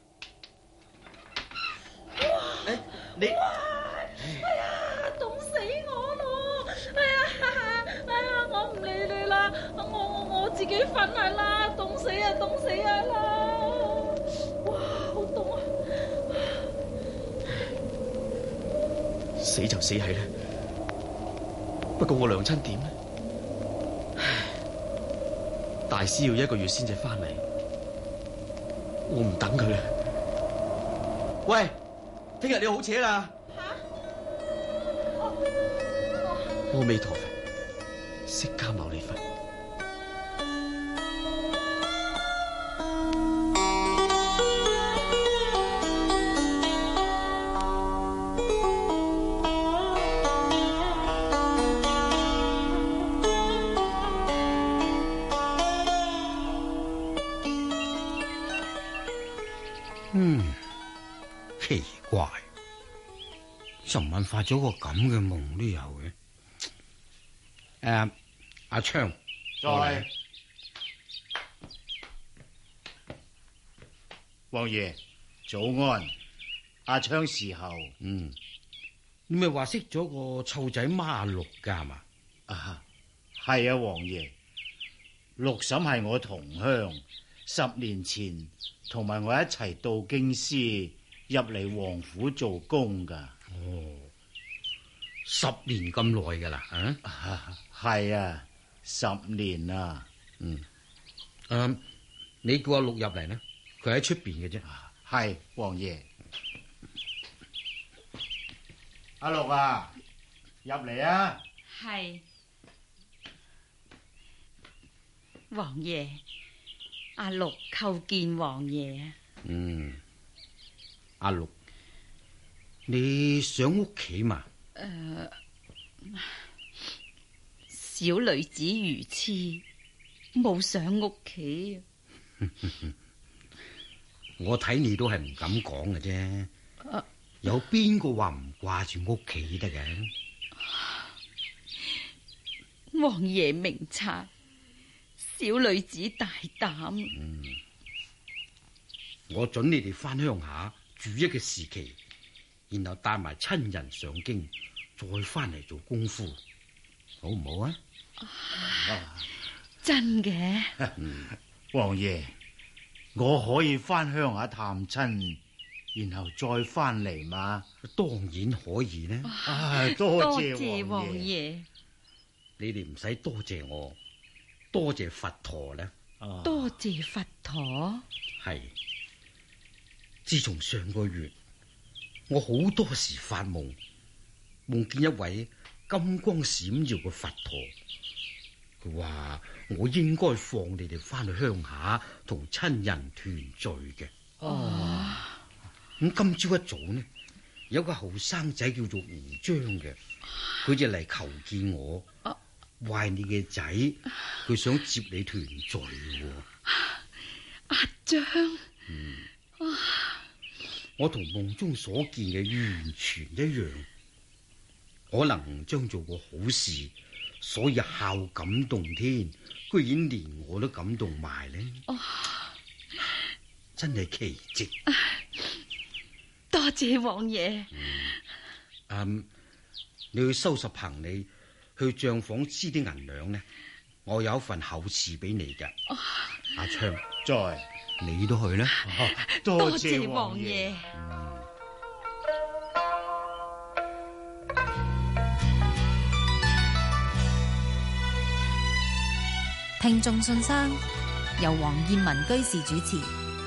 L: 你，
O: 哎呀，凍死我咯！哎呀，我唔理你啦，我自己瞓係啦，凍死啊，凍死啊啦！哇，好凍啊！
L: 死就死係啦，不過我娘親點呢？大師要1個月先至翻嚟，我唔等佢啦。喂，聽日你好扯啦！阿彌陀佛，釋迦牟尼佛。
N: 奇怪，尋晚發咗個咁嘅夢都有嘅。阿昌，
K: 在。 王爺早安。阿昌侍候。
P: 你咪話識咗個臭仔媽阿六噶係嘛？
K: 係啊，王爺。六嬸係我同鄉，10年前同埋我一齊到京師入嚟王府做工噶。
P: 哦，10年咁耐噶啦，
K: 係啊，10年啦。
P: 你叫阿六入嚟呢？佢喺出邊嘅啫。
K: 係，王爺。阿六啊，入嚟啊！
Q: 係，王爺，阿六叩見王爺。
P: 阿六，你上屋企嘛？
Q: 小女子愚痴，冇上屋企。
P: 我睇你都係唔敢講嘅啫。有邊個話唔掛住屋企得嘅？
Q: 王爺明察，小女子大膽。
P: 我准你哋翻鄉下住一個時期，然後帶埋親人上京，再翻嚟做功夫，好唔好啊？
Q: 真嘅。
K: 王爺，我可以翻鄉下探親，然後再翻嚟嘛？
P: 當然可以呢。
K: 多謝王爺。
P: 你哋唔使多謝我，多謝佛陀呢。
Q: 多謝佛陀。
P: 係。自從上個月，我好多時發夢，夢見一位金光閃耀嘅佛陀。佢話我應該放你哋翻去鄉下同親人團聚嘅。咁今朝一早呢，有個後生仔叫做胡章嘅，佢就嚟求見我，話你嘅仔，佢想接你團聚。
Q: 阿章，
P: 我同夢中所見嘅完全一樣，可能將做過好事，所以孝感動天，居然連我都感動埋呢。真係奇蹟。
Q: 多謝王爺。
P: 你去收拾行李，去賬房支啲銀兩呢？我有一份厚賜俾你㗎。阿昌，你都去啦。
K: 多謝王爺。
H: 聽眾信箱由黃燕文居士主持。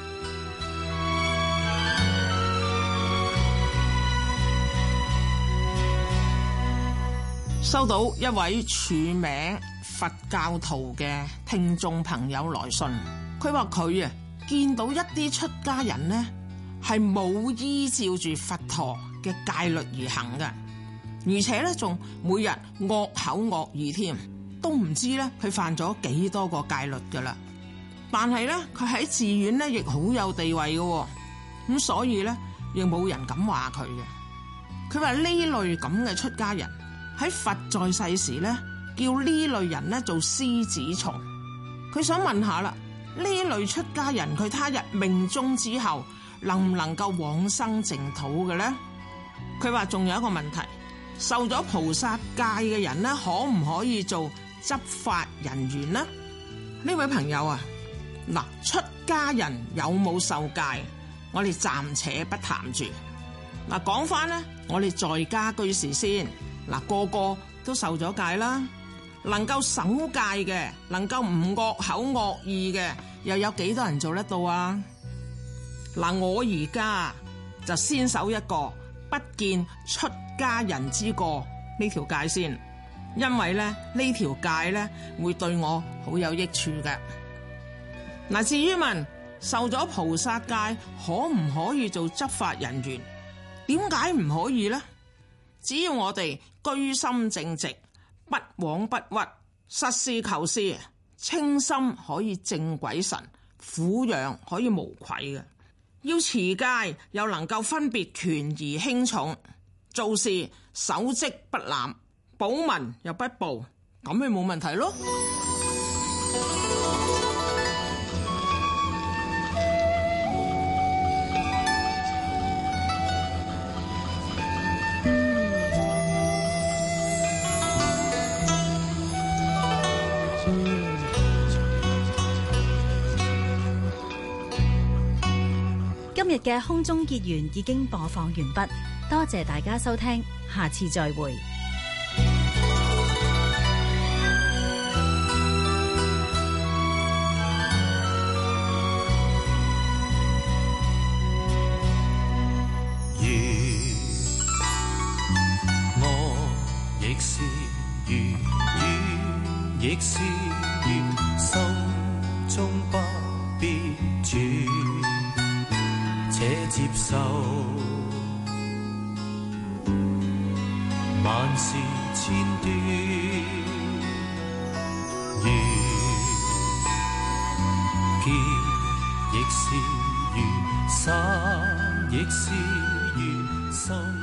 E: 收到一位署名佛教徒嘅聽眾朋友來信，佢話佢見到一啲出家人呢係冇依照住佛陀嘅戒律而行嘅，而且呢仲每日惡口惡語添，都唔知呢佢犯咗幾多個戒律噶啦。但係呢佢喺寺院呢亦好有地位嘅，咁所以呢亦冇人敢話佢嘅。佢話呢類咁嘅出家人喺佛在世時呢，叫呢類人呢做獅子蟲。佢想問下啦，呢類出家人佢他日命終之後能唔能夠往生淨土嘅呢？佢話仲有一個問題，受咗菩薩戒嘅人呢，可唔可以做執法人員呢？呢位朋友啊，嗱，出家人有冇受戒，我哋暫且不談住。嗱，講翻呢，我哋在家居士先。嗱，個個都受咗戒啦，能夠守戒嘅，能夠唔惡口惡意嘅，又有幾多人做得到啊？嗱，我而家就先守一個不見出家人之過呢條戒先，因為咧呢條戒咧會對我好有益處嘅。嗱，至於問受咗菩薩戒可唔可以做執法人員，點解唔可以呢？只要我哋居心正直，不枉不屈，實事求是，清心可以正鬼神，撫養可以無愧嘅。要持戒又能夠分別權宜輕重，做事守職不濫，保民又不暴，咁咪冇問題咯。
H: 日嘅空中結緣已經播放完畢，多謝大家收聽，下次再會。
R: 亦是如魚，亦是如心中不必轉，且接受萬事千端。如劍亦是如沙，亦是如心。